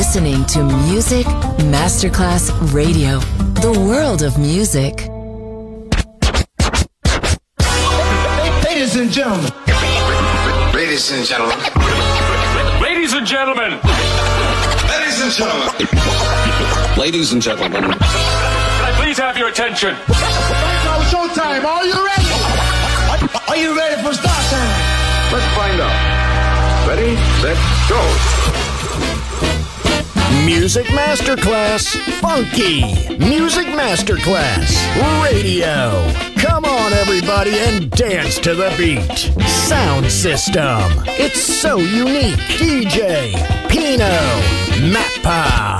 listening to Music Masterclass Radio, the world of music. Ladies and gentlemen. Ladies and gentlemen. Ladies and gentlemen. Ladies and gentlemen. Ladies and gentlemen. Can I please have your attention? Now showtime. Are you ready? Are you ready for start time? Let's find out. Ready, set, go. Music Masterclass Funky. Music Masterclass Radio. Come on, everybody, and dance to the beat. Sound system. It's so unique. DJ Pino Mappa.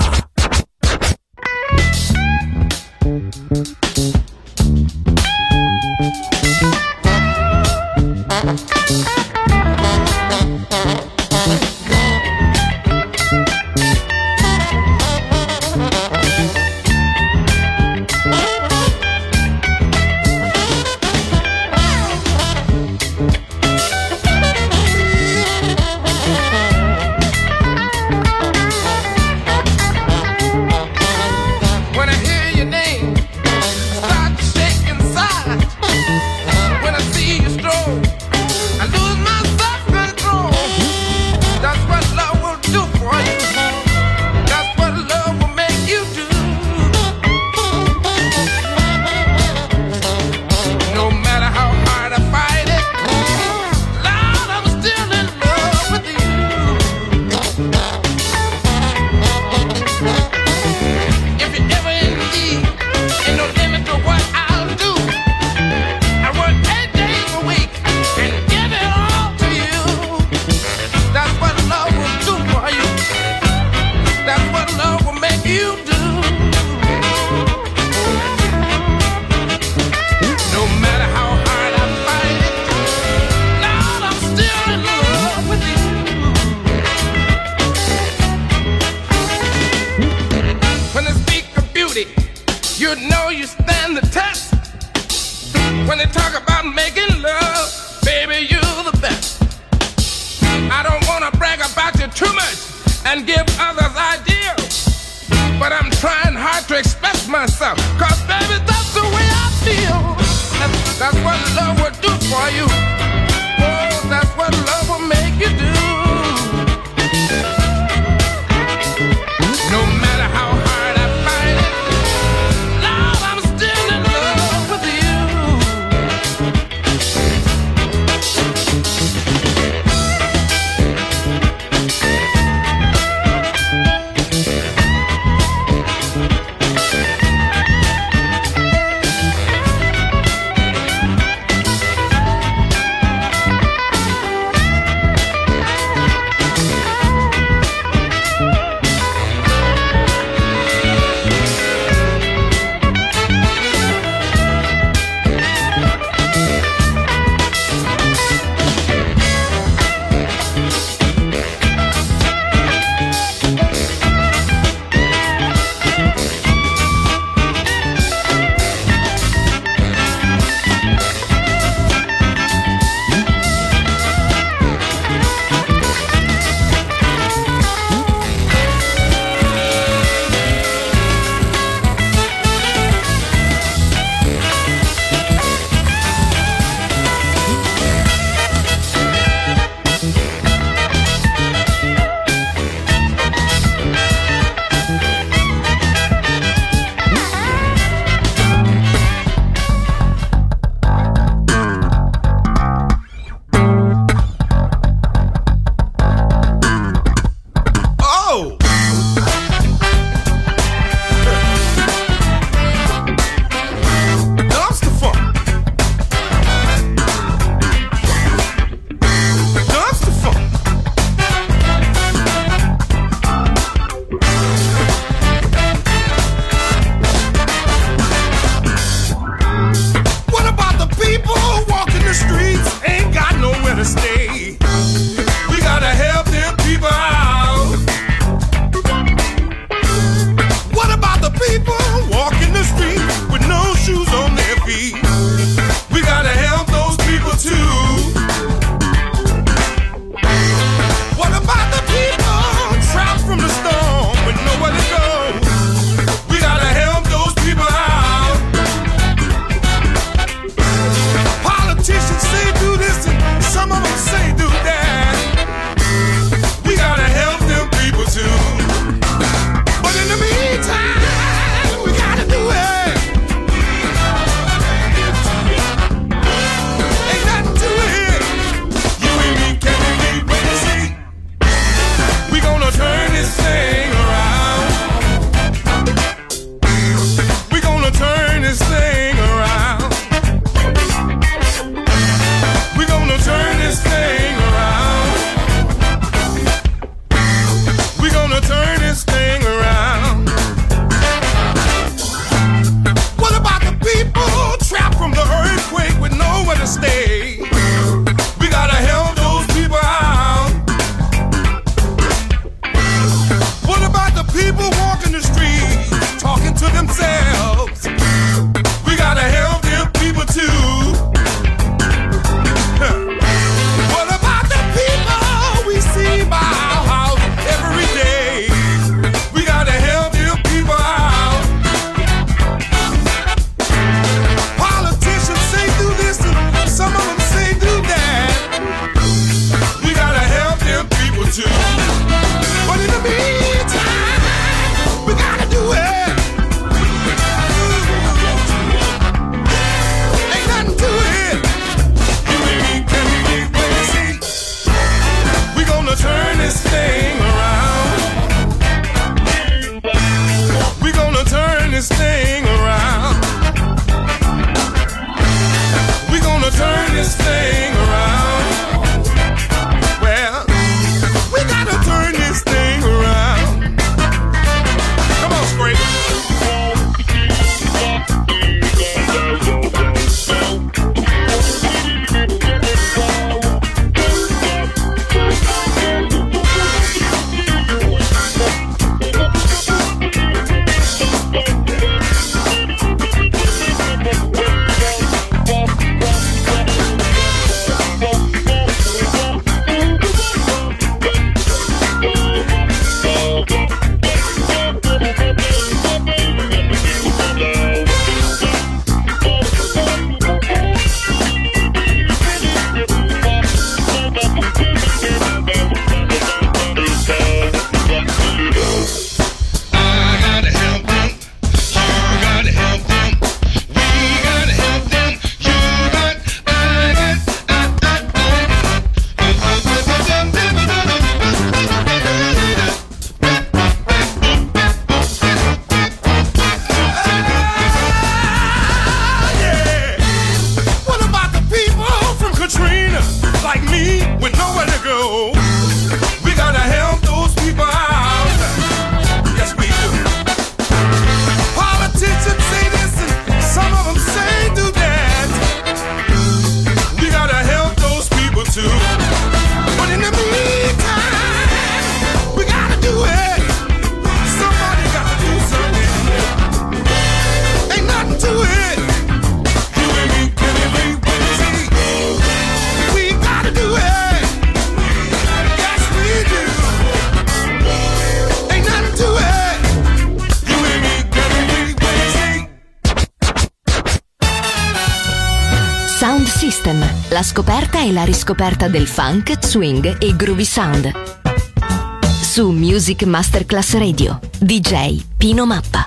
System, la scoperta e la riscoperta del funk, swing e groovy sound. Su Music Masterclass Radio, DJ Pino Mappa.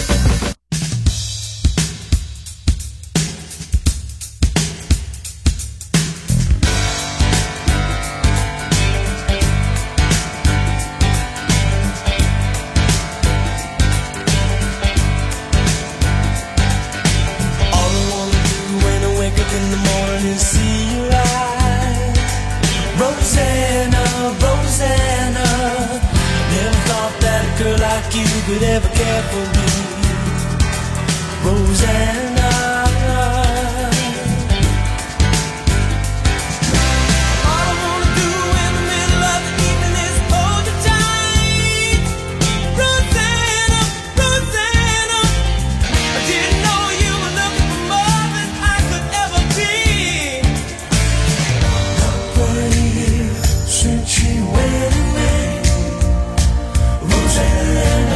Could ever care for me, Rosanna. All I wanna do in the middle of the evening is hold you tight, Rosanna, Rosanna. I didn't know you were looking for more than I could ever be. 20 years since she went away, Rosanna.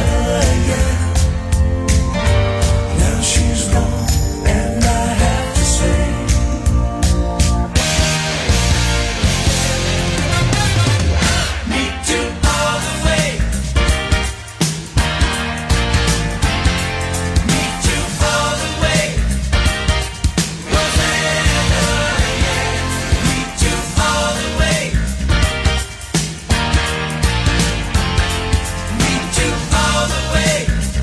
She's gone, and I have to say, me too all the way, me too all the way, Rosanna, yeah, me too all the way, me too all the way.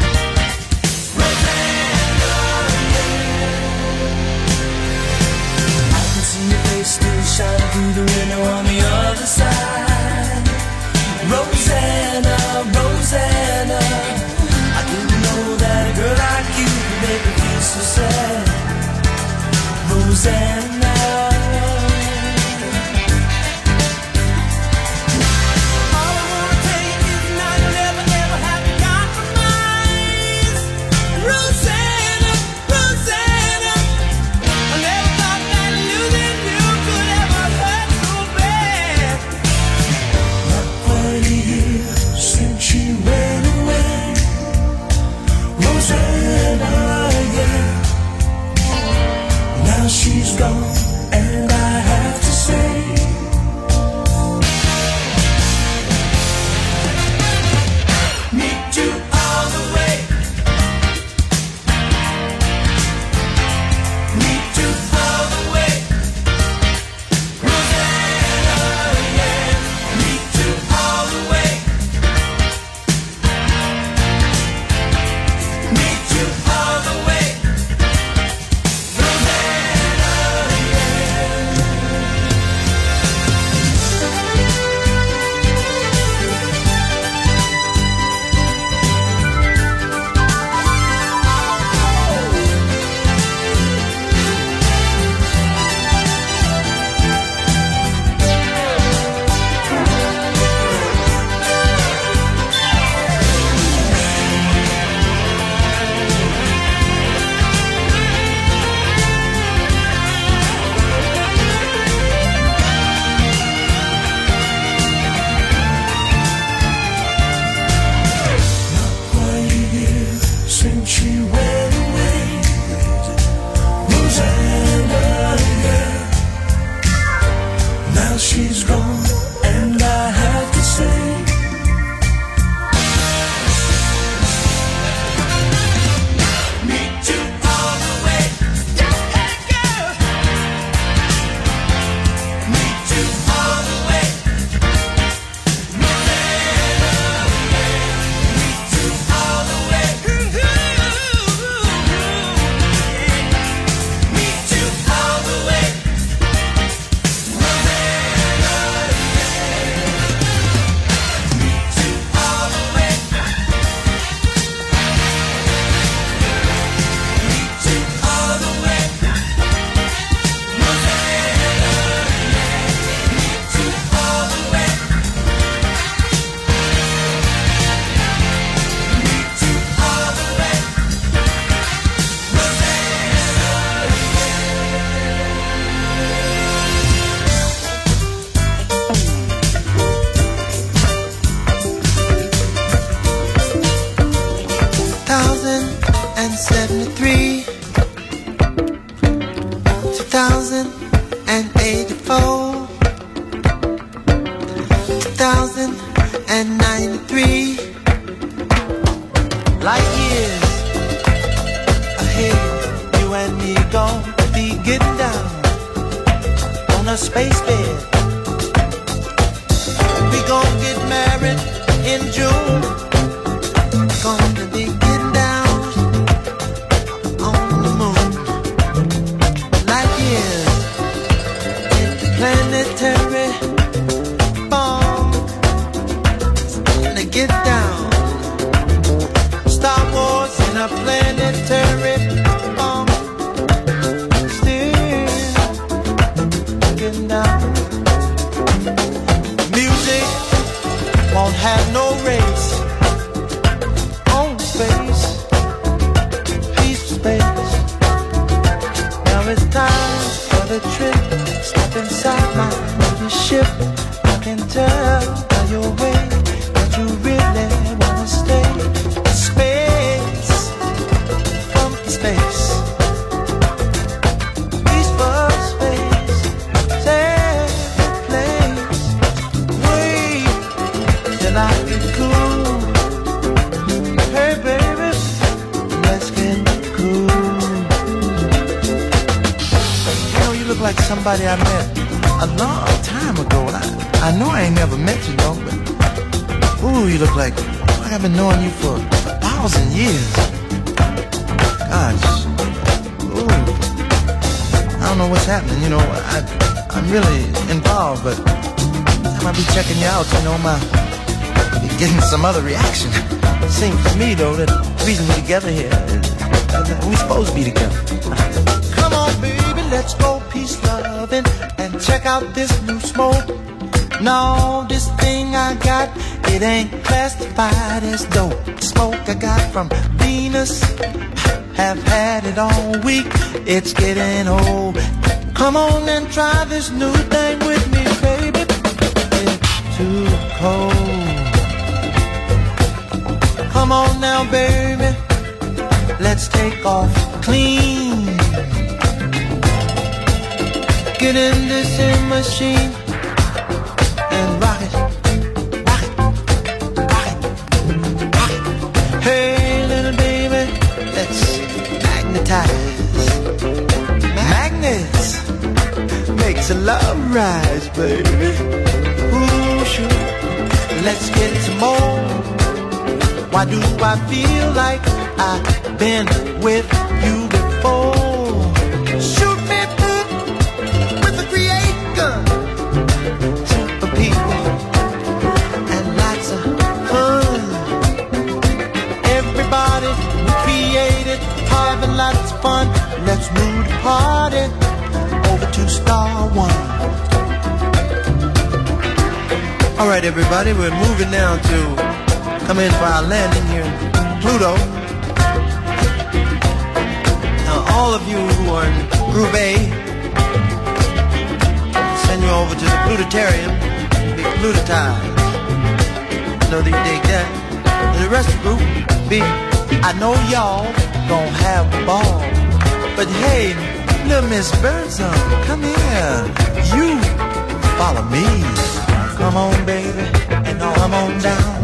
Still shining through the window on the other side, Rosanna, Rosanna. I didn't know that a girl like you could make me feel so sad, Rosanna. All I wanna tell you is now you'll never, ever have to compromise, Rosanna, Rosanna. I never thought that losing you could ever hurt so bad. Not 20 years since she went away, Rosanna, yeah. Now she's gone, and I have to say, me too all the way, me too all the way, Rosanna, yeah, me too all the way, me too all the way, Rosanna, since she went away, Rosanna, yeah. Now she's gone, and I have to say, me too all the way, hey girl, me too all the way, Rosanna, yeah, me too all the way. Me too all the way, 93 light years ahead. You and me gonna be getting down on a space bed. We gonna get married in June. Gonna be getting down on the moon. Light years interplanetary bomb. To get down. Star Wars in a planetary bomb. Still getting down. Music won't have no race. On space, peace to space. Now it's time for the trip. Step inside my movie ship. I can tell by your way that you really wanna stay. Space, from space. Peaceful space, safe place. Wait till I get cool. Hey baby, let's get cool. You know, you look like somebody I met a long time ago. I know I ain't never met you, though, but ooh, you look like I've been knowing you for 1,000 years. Gosh, ooh, I don't know what's happening. You know, I'm really involved, but every time I be checking you out, you know, be getting some other reaction. Seems to me, though, that the reason we're together here is that we supposed to be together. Come on, baby, let's go peace loving and check out this new smoke. No, this thing I got, it ain't classified as dope. Smoke I got from Venus, have had it all week. It's getting old. Come on and try this new thing with me, baby. It's too cold. Come on now, baby, let's take off clean. Get in this machine and rock it, rock it, rock it, rock it. Hey, little baby, let's magnetize. Magnets makes a love rise, baby. Ooh, sure. Let's get some more. Why do I feel like I've been with you before? Shoot me with a create gun. Super people and lots of fun. Everybody created, having lots of fun. Let's move the party over to Star One. All right, everybody, we're moving now to come in for our landing here in Pluto. Now, all of you who are in Group A, send you over to the Plutarium, be Plutotized. I know that you dig that. And the rest of the group, I know y'all gonna have a ball. But hey, little Miss Birdsong, come here. You follow me. Come on, baby, and come on down.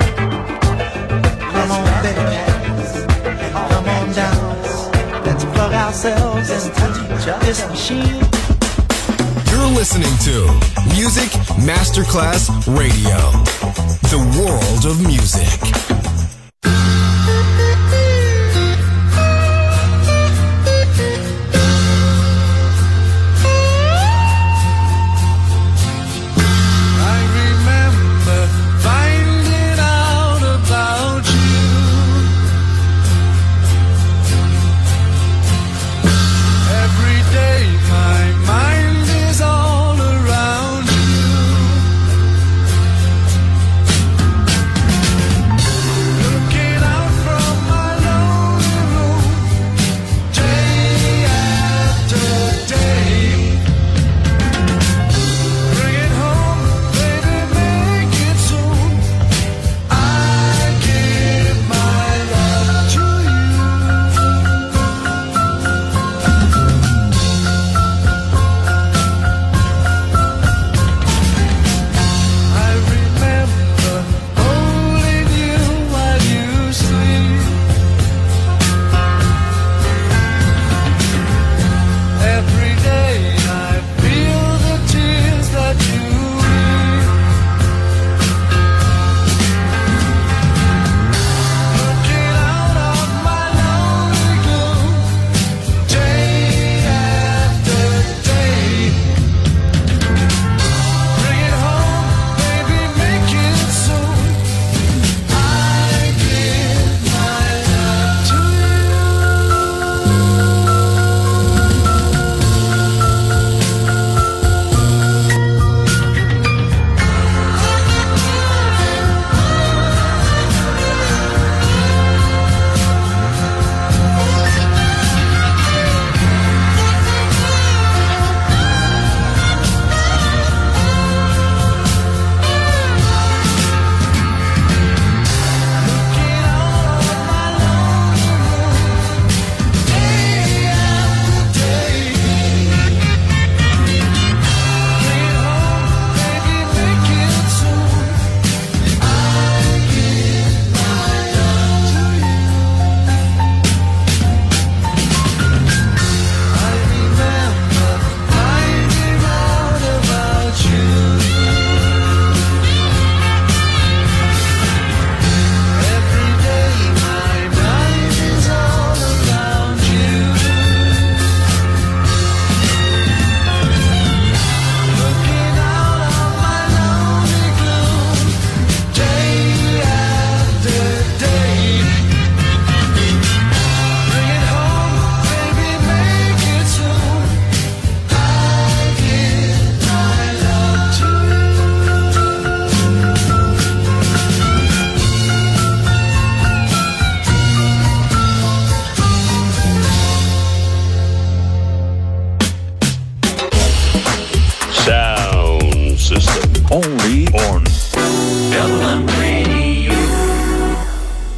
Come on, baby, come on down. Let's plug ourselves into this machine. You're listening to Music Masterclass Radio, the world of music.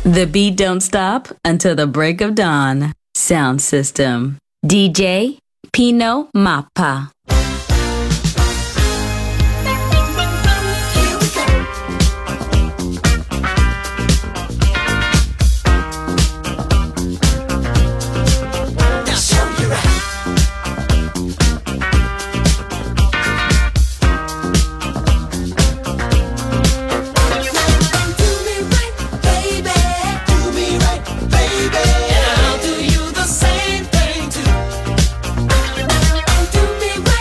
The beat don't stop until the break of dawn. Sound system. DJ Pino Mappa. And I'll do you the same thing too. Do me right.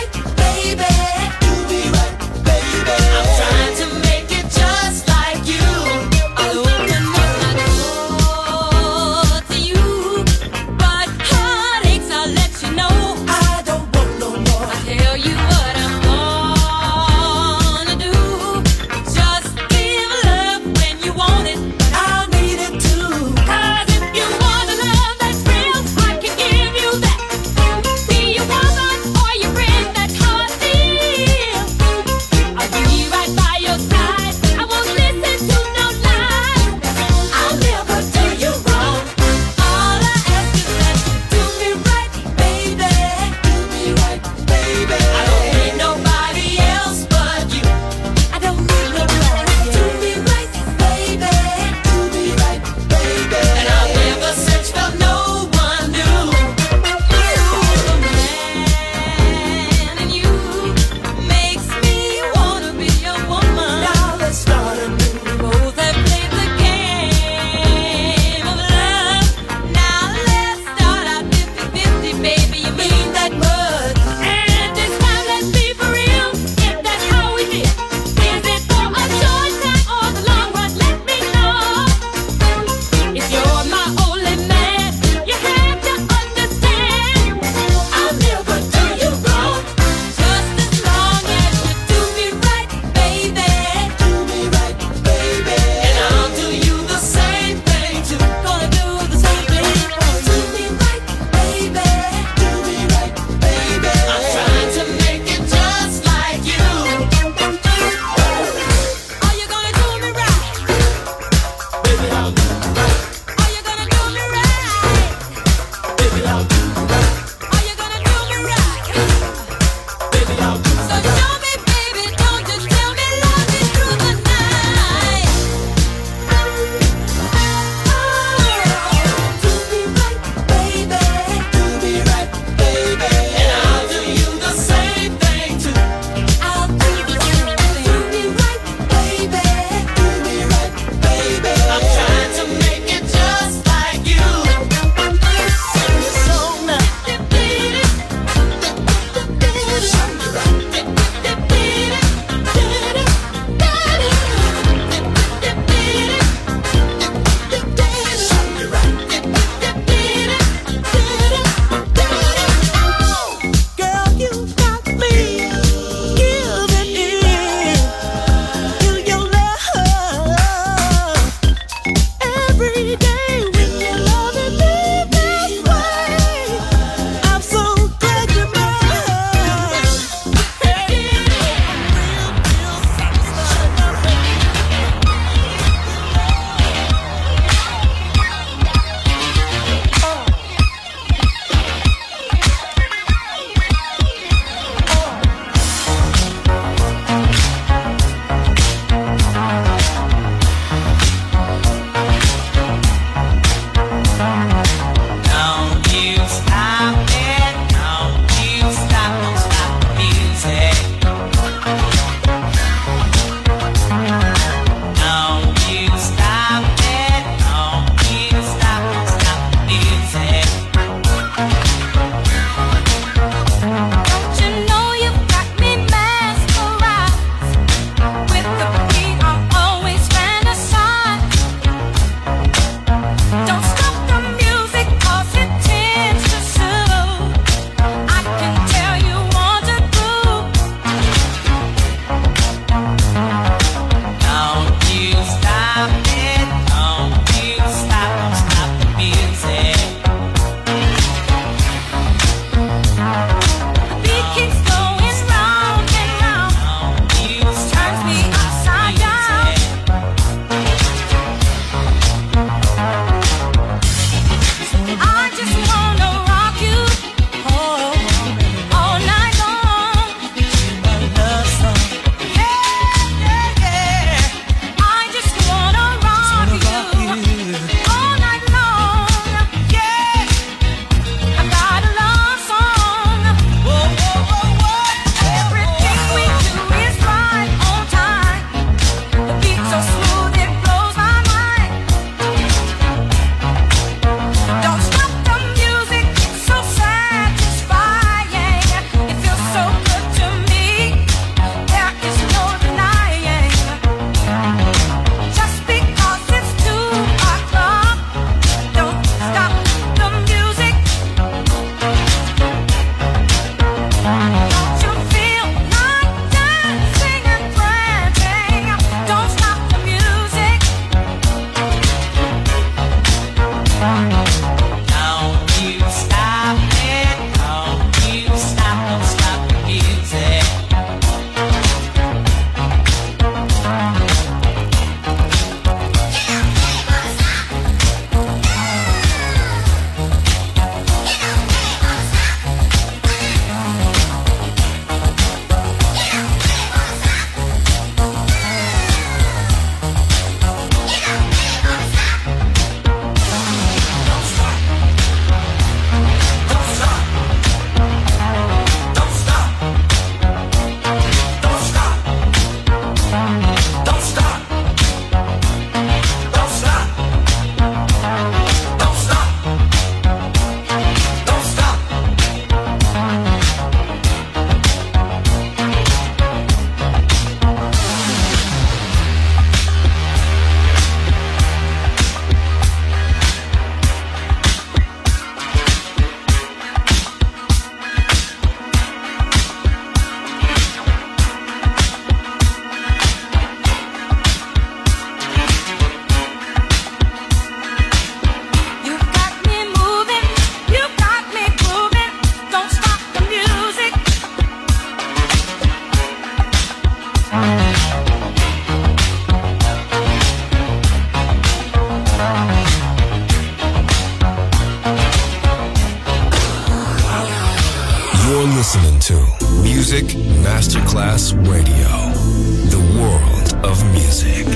listening to Music Masterclass Radio, the world of music.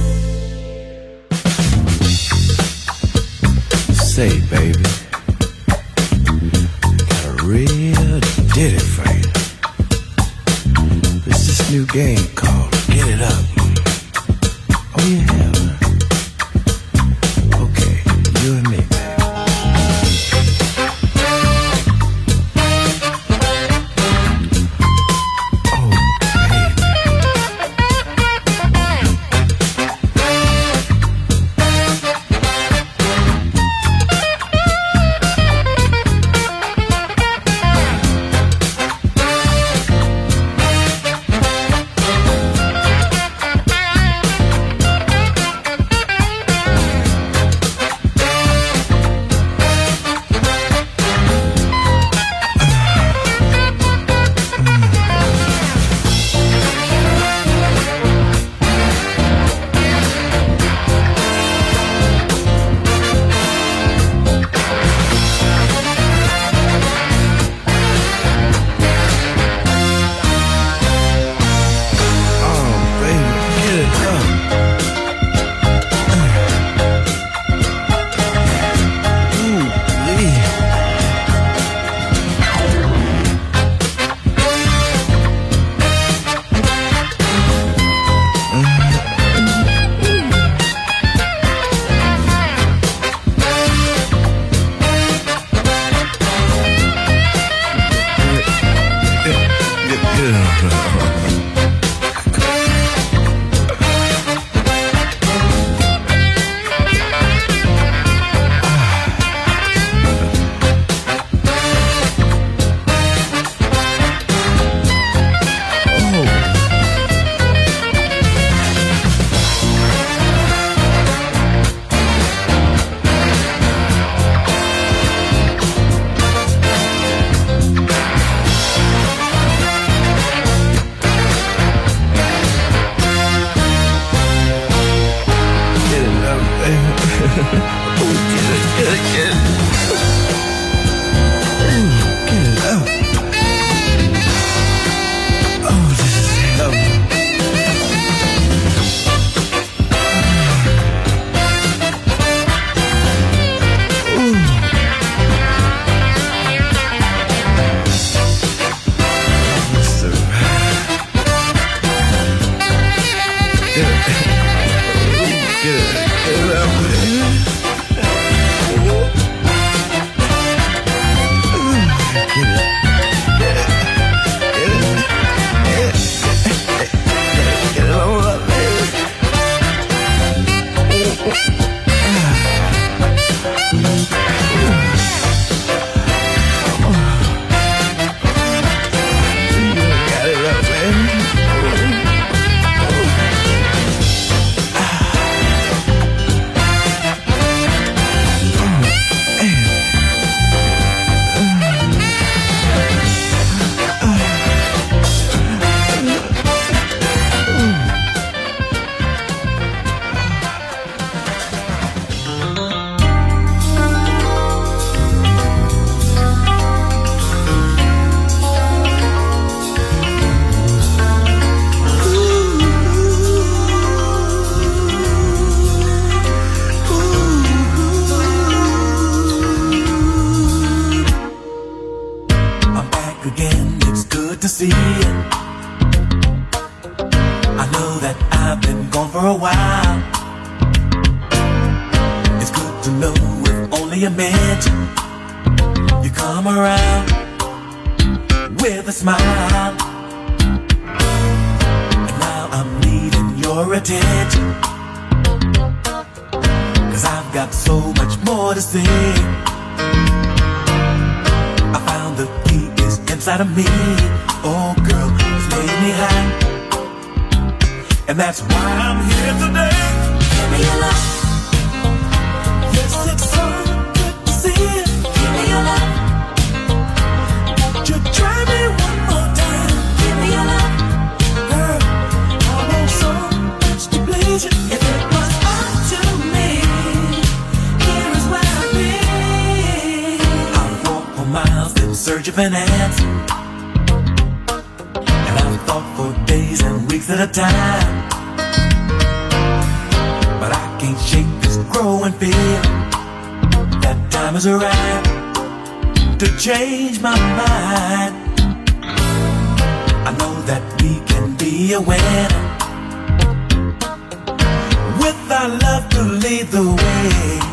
Say, baby, got a real ditty for you. It's this new game called Get It Up. Oh, you have, huh? Okay, you and me, baby. Search of an answer. at a time. But I can't shake this growing feeling that time has arrived to change my mind. I know that we can be a winner with our love to lead the way.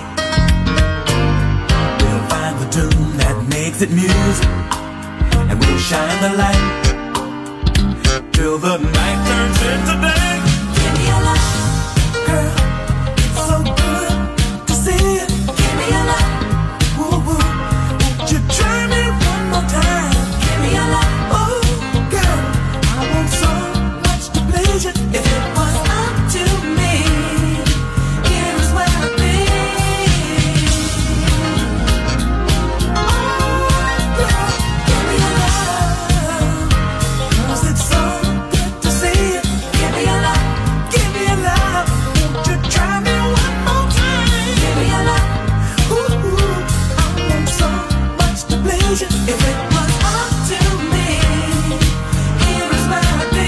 We'll find the tune that makes it music, and we'll shine the light till the night turns into day. Give me your love, girl. It's so good to see it. Give me your love. Ooh, ooh. Won't you try me one more time? Give me your love. Oh, girl, I want so much to please you. If it was up to me, here is where I'd be. Oh, girl, give me your love, 'cause it's so good to see you. Give me your love, give me your love. Won't you try me one more time? Give me your love. Ooh, ooh, I want so much to please you. If it was up to me, here is where I'd be.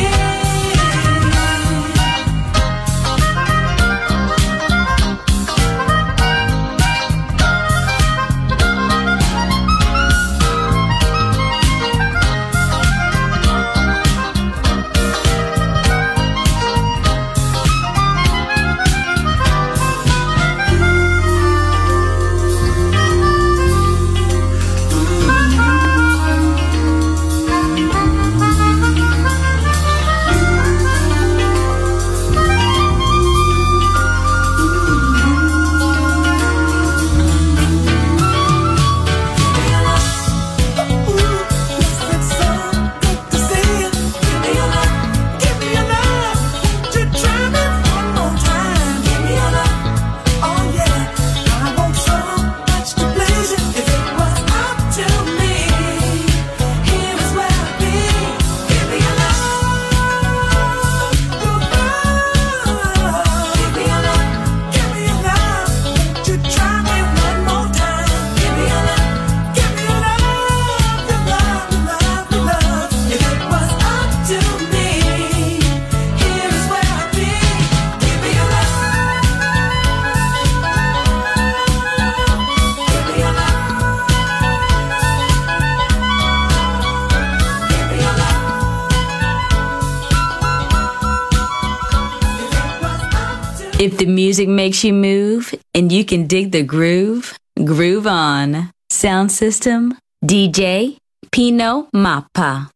If the music makes you move and you can dig the groove, groove on. Sound system, DJ Pino Mappa.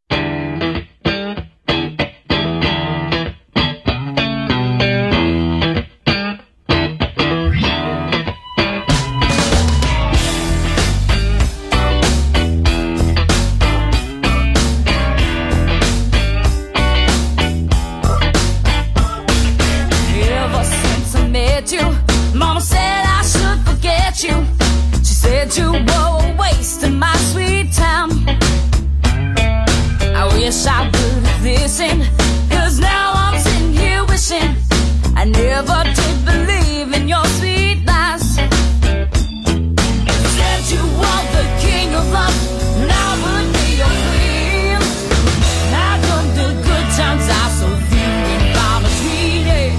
Ever since I met you, Mama said I should forget you. She said you were a waste of my sweet time. I wish I would have listened, 'cause now I'm sitting here wishing I never did believe in your sweet lies. Said you were the king of love, and I would be your queen. Now come the good times, I so few and far between it.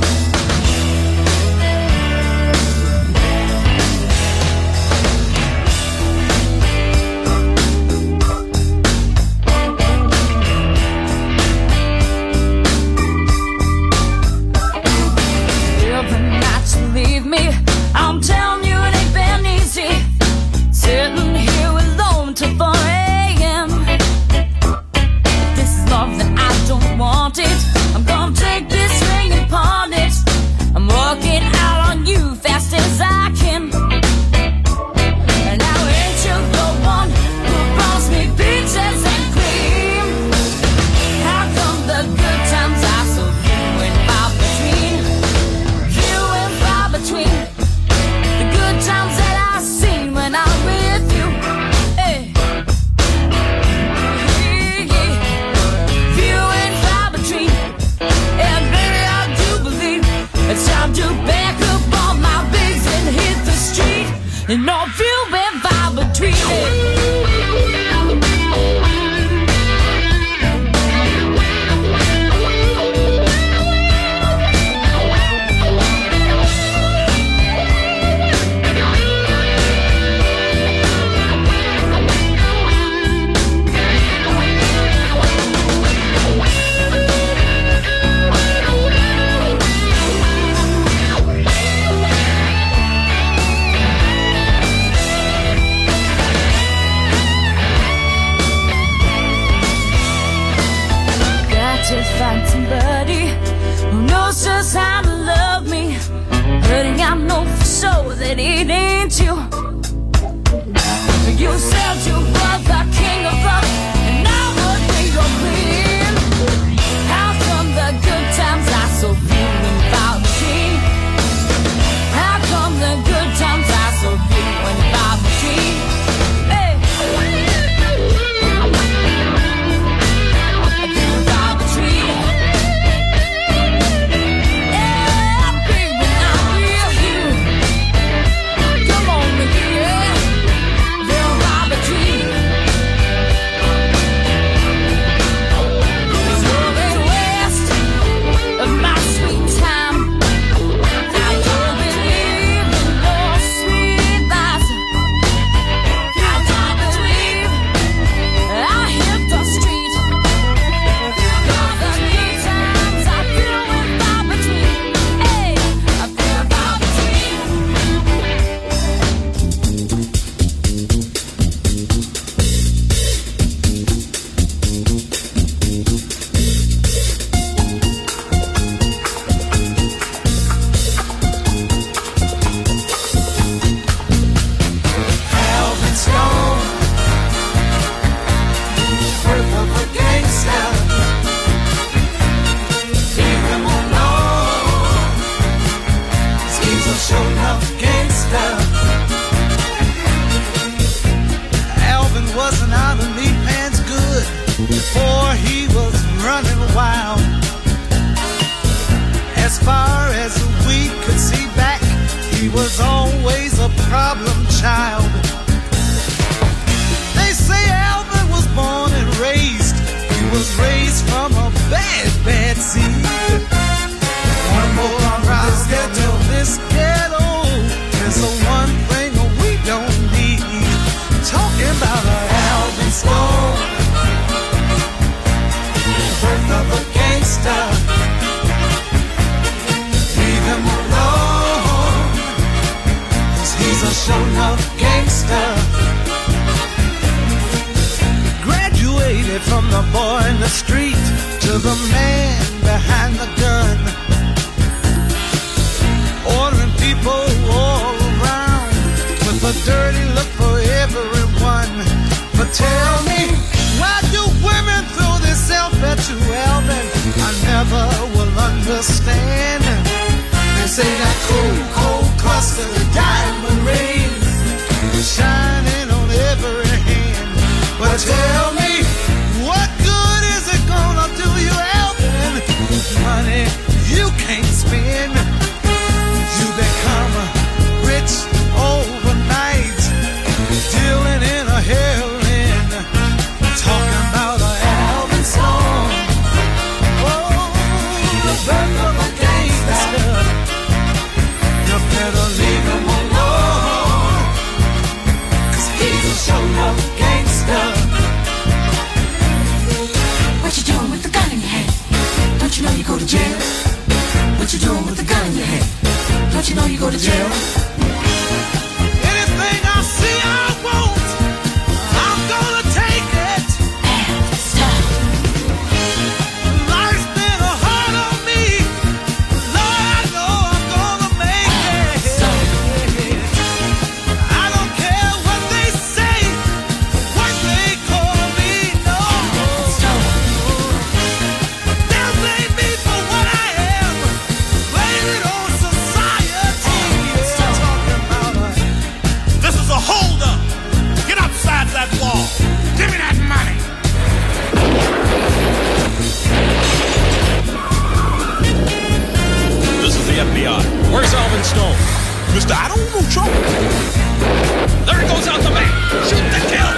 Every night you leave me, I'm telling you it ain't been easy. Sitting here alone till 4 a.m. This is love that I don't want it. I'm gonna take this ring and pawn it. I'm working out on you fast as I can. And now ain't you the one who promised me peaches and cream? How come the good times are so few and far between? Few and far between. The good times that I've seen when I'm with you. Hey. Yeah. Few and far between. And baby, I do believe it's time to back up all my bigs and hit the street. And all few and far between. I know for sure that it ain't you. You said you were the king of love, and I would be your queen. How come the good times are so few and far between? How come the good times are so few and far between? Hey. Few and far between. Yeah, baby, I feel you. Come on, baby, yeah. Few and far between. There's north and west of my sweet time. I don't believe in your sweet lies. I don't believe I hit the street. 'Cause the good times I feel and far between. Hey, I feel far between. Alvin Stone, birth of a gangster. Leave him alone. He's a show-enough gangster. Alvin wasn't out of meat man's good before he was running wild. As far as we could see back, he was always a problem child. They say Alvin was born and raised. He was raised from a bad, bad seed. One more round to this ghetto. There's the one thing we don't need. Talking about an Alvin Stone, birth of a gangster. Leave him alone, 'cause he's a show-enough gangster. Graduated from the boy in the street to the man behind the gun, ordering people all around with a dirty look for everyone. But tell me, why do women throw themselves at you, Alvin? I never will understand. They say that cool, cold cluster of diamond rings shining on every hand. But tell me, what good is it gonna do you, Alvin? Money you can't spend. You become rich overnight, dealing in a heroin. Talking about an Alvin Stone, oh, the birth of a gangster. You better leave him alone, 'cause he's a show-enough gangster. What you doing with the gun in your hand? Don't you know you go to jail? What you doing with the gun in your hand? Don't you know you go to jail? Anything I see I want, I'm gonna take it. Stop. Life's been hard on me, Lord, I know I'm gonna make it. I don't care what they say, what they call me, no. They'll blame me for what I am, blame it on society. Talking about this is a holdup. Get upside that wall. Give me that money. This is the FBI. Where's Alvin Stone? Mister, I don't know trouble. There he goes out the back. Shoot to kill.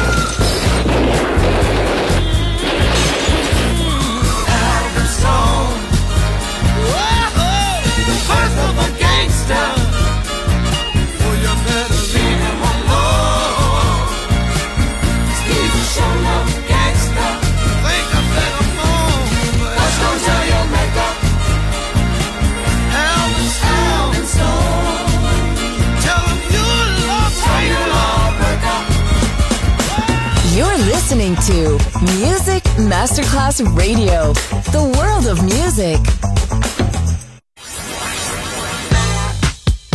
Alvin Stone, whoa, birth of a gangster. Oh, you better leave him alone. He's a show-enough gangster. Think I better move, but let's go tell your makeup. Alvin Stone, tell him you love breaker. You're listening to Music Masterclass Radio, the world of music.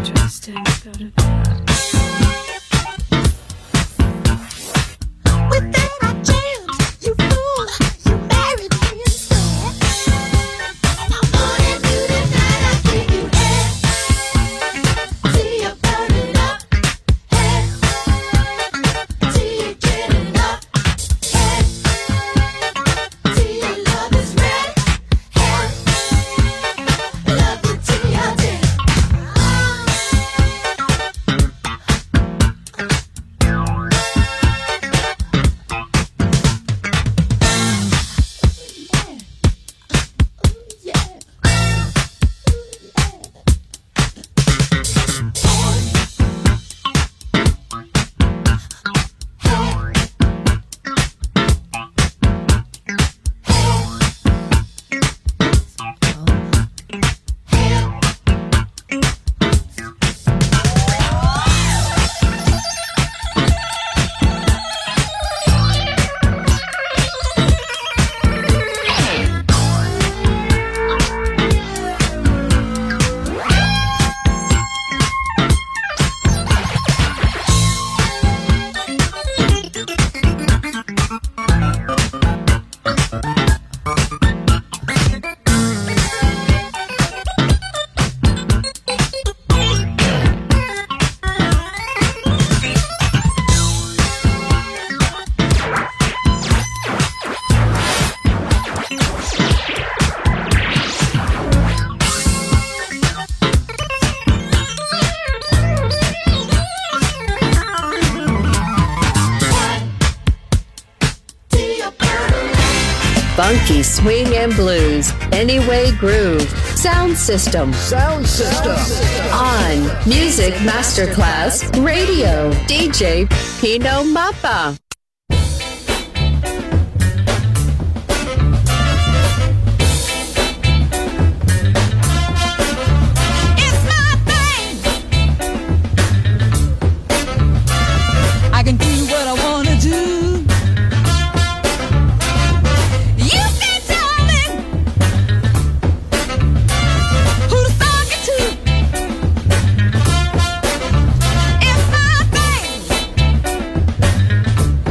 Funky swing and blues, Anyway Groove, Sound System. Sound System. On Music Masterclass Radio, DJ Pino Mappa. I can do what I wanna do. You can tell me who to talk it to. It's my thing.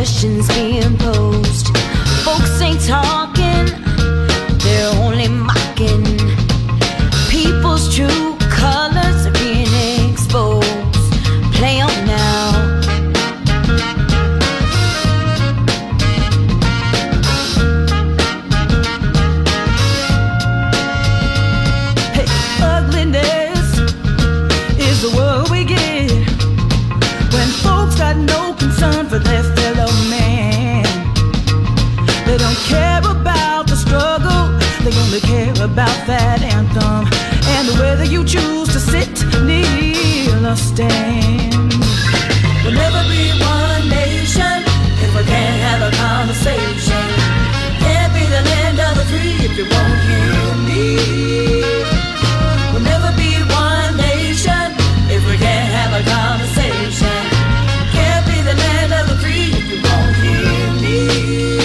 questions being posed. Folks ain't talking, they're only mocking. People's true colors are being exposed. Play on now. Hey, ugliness is the word we get when folks got no concern for their fellow man. They don't care about the struggle, they only care about that anthem and whether you choose to sit, kneel, or stand. We'll never be one nation if we can't have a conversation. Can't be the land of the free if you won't hear me. We'll never be one nation if we can't have a conversation. Can't be the land of the free if you won't hear me.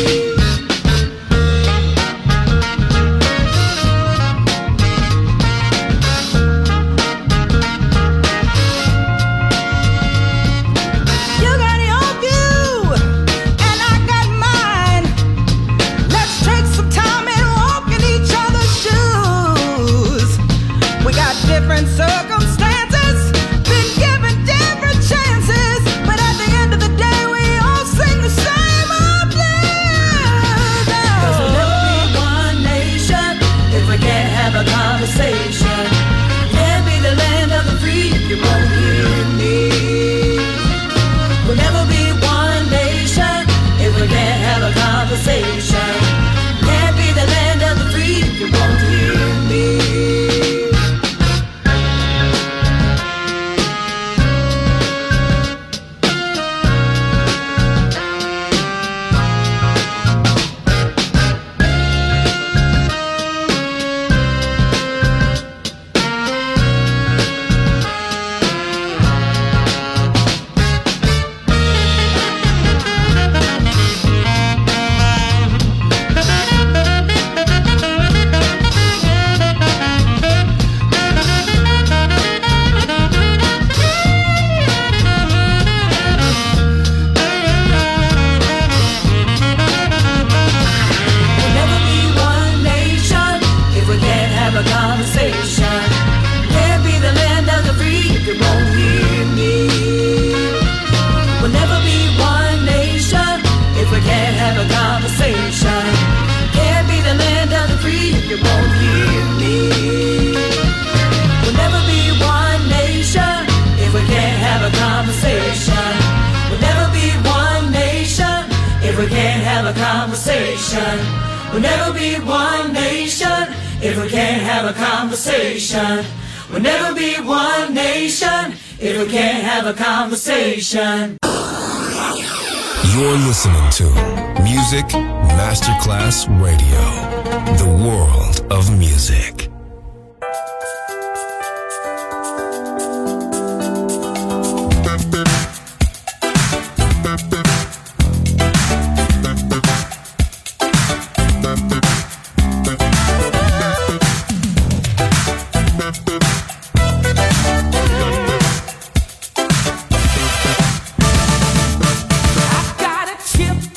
Circumstances, been given different chances, but at the end of the day, we all sing the same old blues. 'Cause we'll never be one nation if we can't have a conversation. Can't be the land of the free if you won't hear me. We'll never be one nation if we can't have a conversation. Can't be the land of the free if you won't hear me. We'll never be one nation if we can't have a conversation. We'll never be one nation if we can't have a conversation. You're listening to Music Masterclass Radio, the world of music.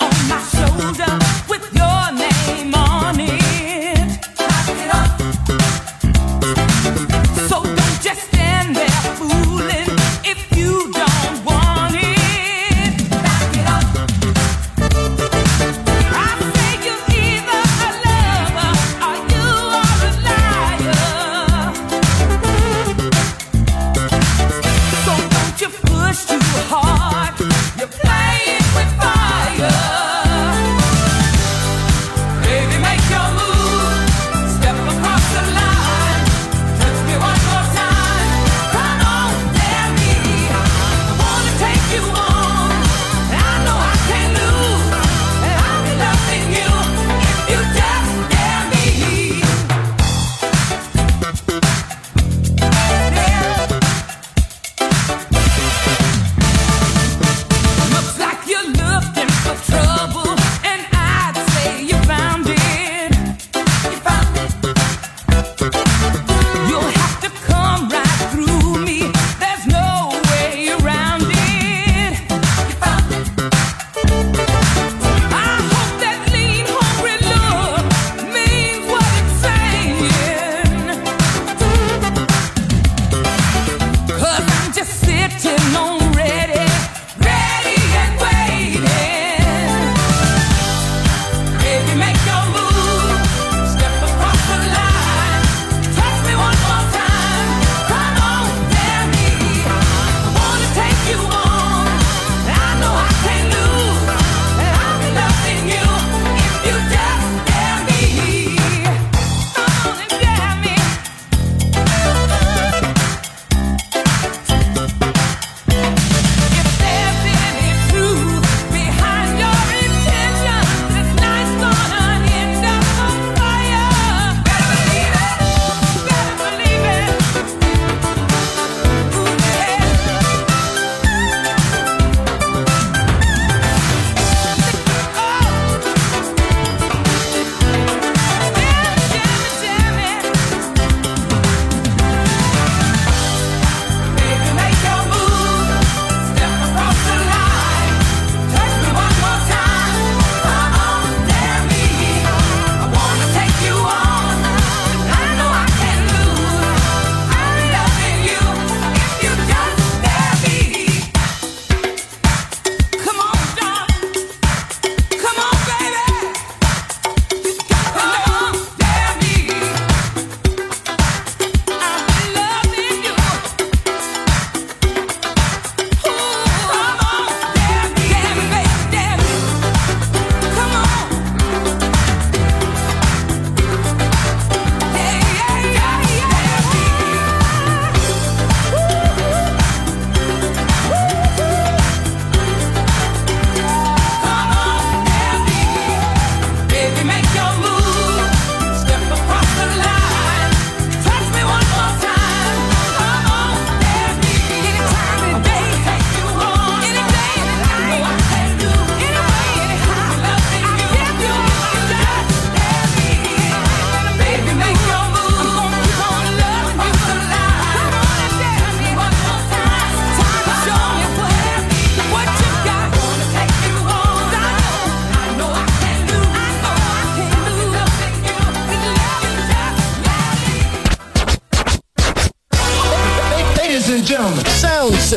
With your name on it,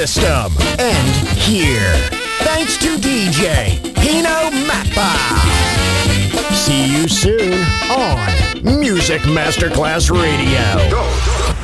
system end here. Thanks to DJ Pino Mappa. See you soon on Music Masterclass Radio. Go.